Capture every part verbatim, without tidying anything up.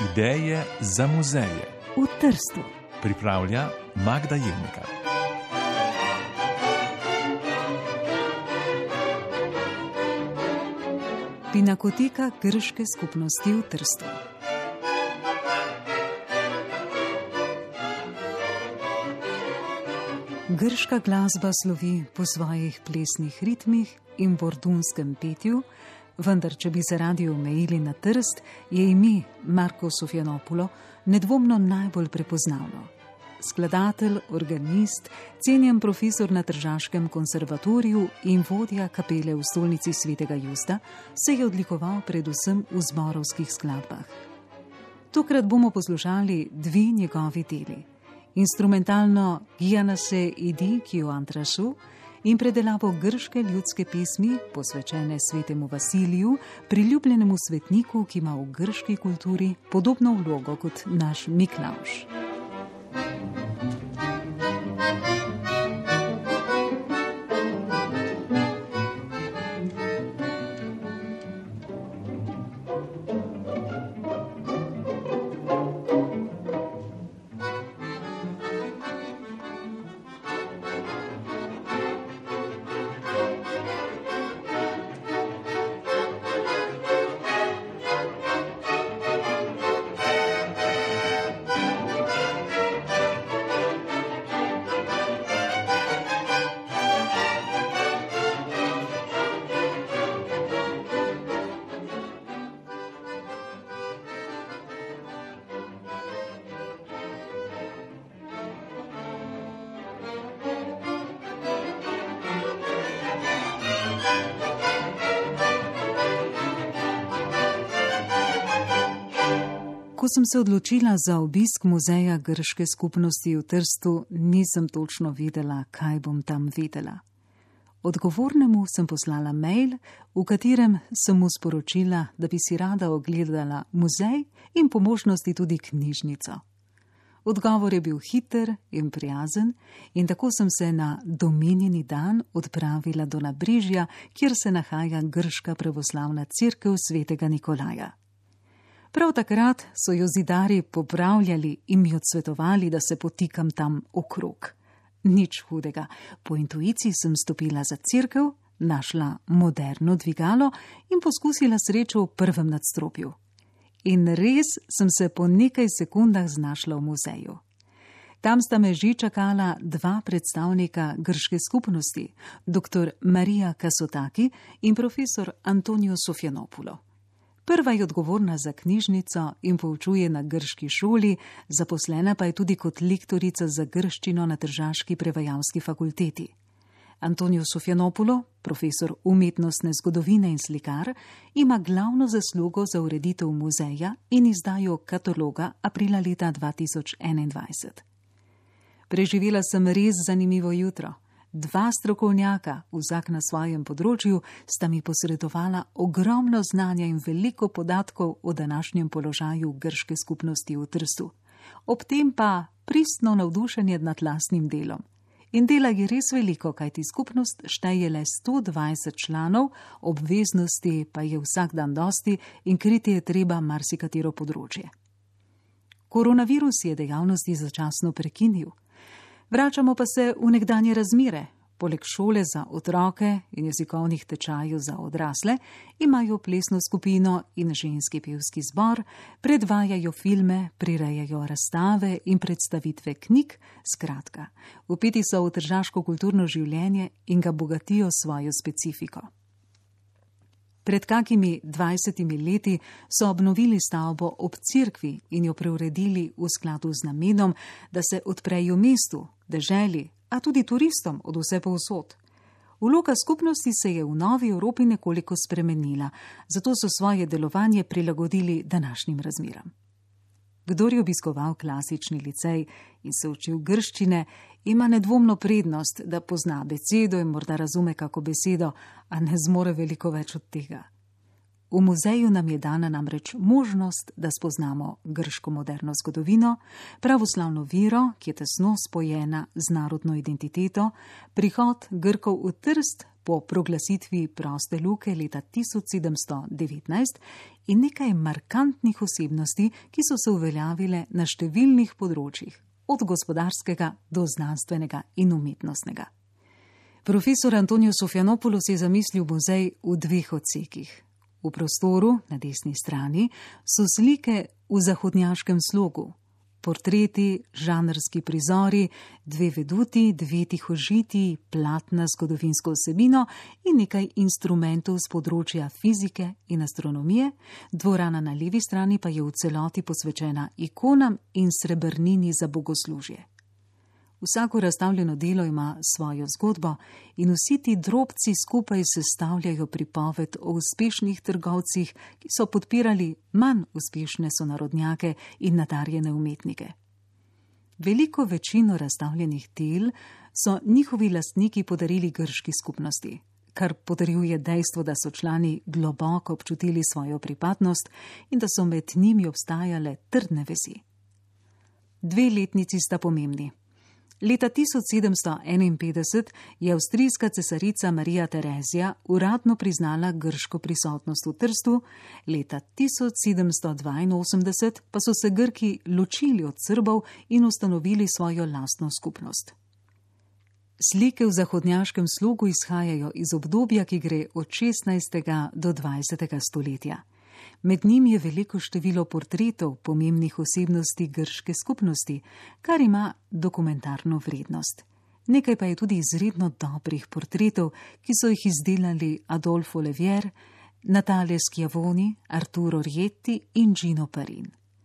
Ideje za muzeje v Trstu. Pripravlja Magda Jelnika. Pinakoteka grške skupnosti v Trstu. Grška glasba slovi po svojih plesnih ritmih in bordunskem petju, vendar, če bi se radi omejili na Trst, je ime Marko Sofianopulo nedvomno najbolj prepoznavno. Skladatelj, organist, cenjen profesor na Tržaškem konservatoriju in vodja kapele v stolnici Svetega Justa se je odlikoval predvsem v zborovskih skladbah. Tokrat bomo poslušali dve njegovi deli. Instrumentalno Gianase idi kio antrasu in predelavo grške ljudske pesmi, posvečene svetemu Vasiliju, priljubljenemu svetniku, ki ima v grški kulturi podobno vlogo kot naš Miklavž. Ko sem se odločila za obisk muzeja grške skupnosti v Trstu, nisem točno vedela, kaj bom tam videla. Odgovornemu sem poslala mail, v katerem sem mu sporočila, da bi si rada ogledala muzej in po možnosti tudi knjižnico. Odgovor je bil hiter in prijazen in tako sem se na domenjeni dan odpravila do Nabrežja, kjer se nahaja grška pravoslavna cerkev svetega Nikolaja. Prav takrat so jo zidarji popravljali in mi odsvetovali, da se potikam tam okrog. Nič hudega. Po intuiciji sem stopila za cerkev, našla moderno dvigalo in poskusila srečo v prvem nadstropju. In res sem se po nekaj sekundah znašla v muzeju. Tam sta me že čakala dva predstavnika grške skupnosti, doktor Marija Kasotaki in profesor Antonio Sofianopulo. Prva je odgovorna za knjižnico in poučuje na grški šoli, zaposlena pa je tudi kot lektorica za grščino na Tržaški prevajalski fakulteti. Antonio Sofianopulo, profesor umetnostne zgodovine in slikar, ima glavno zaslugo za ureditev muzeja in izdajo kataloga aprila leta dva tisoč enaindvajset. Preživela sem res zanimivo jutro. Dva strokovnjaka, vsak na svojem področju, sta mi posredovala ogromno znanja in veliko podatkov o današnjem položaju grške skupnosti v Trstu. Ob tem pa pristno navdušenje nad lastnim delom. In dela je res veliko, kajti skupnost šteje le sto dvajset članov, obveznosti pa je vsak dan dosti in kriti je treba marsikatero področje. Koronavirus je dejavnosti začasno prekinil. Vračamo pa se v nekdanje razmere. Poleg šole za otroke in jezikovnih tečajev za odrasle imajo plesno skupino in ženski pevski zbor, predvajajo filme, prirejajo razstave in predstavitve knjig, skratka, vpeti so v tržaško kulturno življenje in ga bogatijo svojo specifiko. Pred kakimi dvajsetimi leti so obnovili stavbo ob cerkvi in jo preuredili v skladu z namenom, da se odprejo mestu, deželi, a tudi turistom od vse povsod. Vloga skupnosti se je v novi Evropi nekoliko spremenila, zato so svoje delovanje prilagodili današnjim razmeram. Kdor je obiskoval klasični licej in se učil grščine, ima nedvomno prednost, da pozna besedo in morda razume kako besedo, a ne zmore veliko več od tega. V muzeju nam je dana namreč možnost, da spoznamo grško moderno zgodovino, pravoslavno vero, ki je tesno spojena z narodno identiteto, prihod Grkov v Trst, po proglasitvi proste luke leta tisoč sedemsto devetnajst in nekaj markantnih osebnosti, ki so se uveljavile na številnih področjih, od gospodarskega do znanstvenega in umetnostnega. Profesor Antonijo Sofianopoulos je zamislil muzej v dveh odsekih. V prostoru, na desni strani, so slike v zahodnjaškem slogu, portreti, žanrski prizori, dve veduti, dve tihožitji, platna z zgodovinsko vsebino in nekaj instrumentov z področja fizike in astronomije, dvorana na levi strani pa je v celoti posvečena ikonam in srebrnini za bogoslužje. Vsako razstavljeno delo ima svojo zgodbo in vsi ti drobci skupaj sestavljajo pripoved o uspešnih trgovcih, ki so podpirali manj uspešne sonarodnjake in nadarjene umetnike. Veliko večino razstavljenih del so njihovi lastniki podarili grški skupnosti, kar potrjuje dejstvo, da so člani globoko občutili svojo pripadnost in da so med njimi obstajale trdne vezi. Dve letnici sta pomembni. Leta tisoč sedemsto enainpetdeset je avstrijska cesarica Marija Terezija uradno priznala grško prisotnost v Trstu, leta tisoč sedemsto dvainosemdeset pa so se Grki ločili od Srbov in ustanovili svojo lastno skupnost. Slike v zahodnjaškem slogu izhajajo iz obdobja, ki gre od šestnajstega do dvajsetega stoletja. Med njimi je veliko število portretov pomembnih osebnosti grške skupnosti, kar ima dokumentarno vrednost. Nekaj pa je tudi izredno dobrih portretov, ki so jih izdelali Adolfo Levier, Natalia Schiavoni, Arturo Rietti in Gino Parin.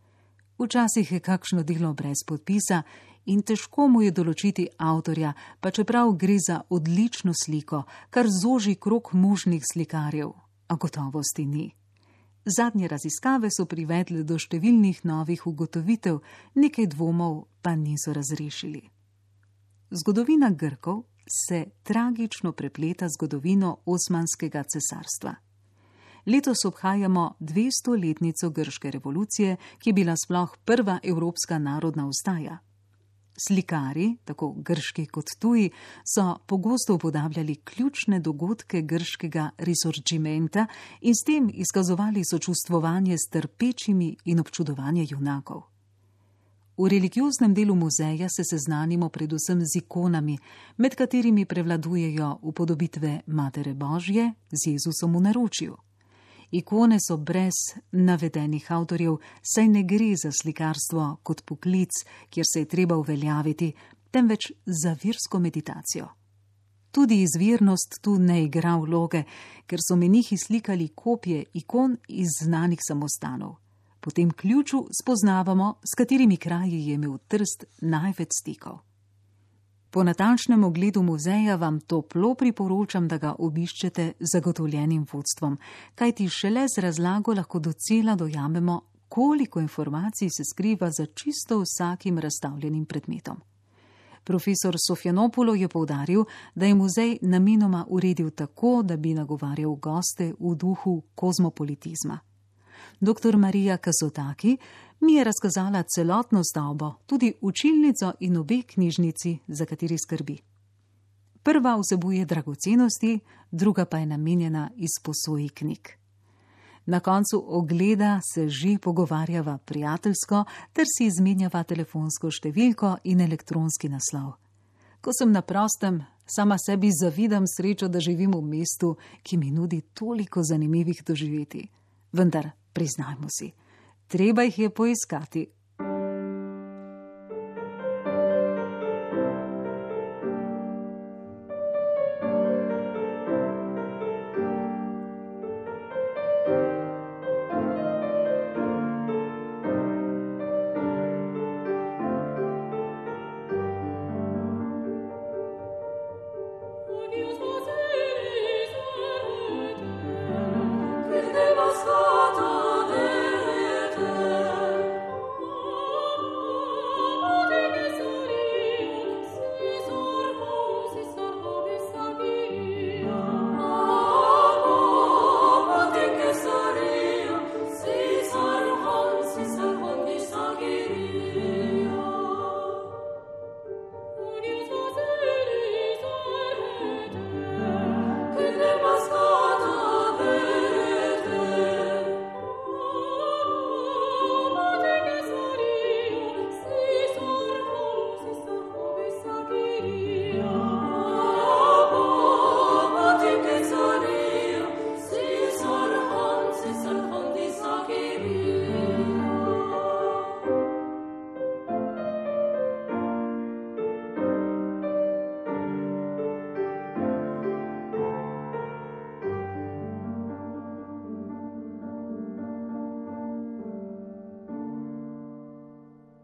Včasih je kakšno delo brez podpisa in težko mu je določiti avtorja, pa čeprav gre za odlično sliko, kar zoži krog možnih slikarjev, a gotovosti ni. Zadnje raziskave so privedle do številnih novih ugotovitev, nekaj dvomov pa niso razrešili. Zgodovina Grkov se tragično prepleta z zgodovino Osmanskega cesarstva. Letos obhajamo dvestoletnico grške revolucije, ki je bila sploh prva evropska narodna vstaja. Slikari, tako grški kot tuji, so pogosto upodabljali ključne dogodke grškega risorgimenta in s tem izkazovali sočustvovanje s trpečimi in občudovanje junakov. V religioznem delu muzeja se seznanimo predvsem z ikonami, med katerimi prevladujejo upodobitve Matere Božje z Jezusom v naročju. Ikone so brez navedenih avtorjev, saj ne gre za slikarstvo kot poklic, kjer se je treba uveljaviti, temveč za versko meditacijo. Tudi izvirnost tu ne igra vloge, ker so menihi slikali kopije ikon iz znanih samostanov. Po tem ključu spoznavamo, s katerimi kraji je imel Trst največ stikov. Po natančnem ogledu muzeja vam toplo priporočam, da ga obiščete z zagotovljenim vodstvom, kajti šele z razlago lahko docela dojamemo, koliko informacij se skriva za čisto vsakim razstavljenim predmetom. Profesor Sofianopoulos je poudaril, da je muzej namenoma uredil tako, da bi nagovarjal goste v duhu kozmopolitizma. Doktor Marija Kazotaki mi je razkazala celotno stavbo, tudi učilnico in obe knjižnici, za kateri skrbi. Prva vsebuje dragocenosti, druga pa je namenjena izposoji knjig. Na koncu ogleda se že pogovarjava prijateljsko ter si izmenjava telefonsko številko in elektronski naslov. Ko sem na prostem, sama sebi zavidam srečo, da živim v mestu, ki mi nudi toliko zanimivih doživeti. Vendar, priznajmo si, treba jih je poiskati.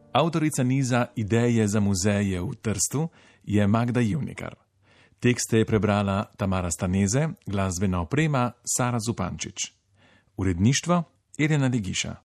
Avtorica niza Ideje za muzeje v Trstu je Magda Jevnikar. Tekste je prebrala Tamara Staneze, glasbena oprema Sara Zupančič. Uredništvo Irena Legiša.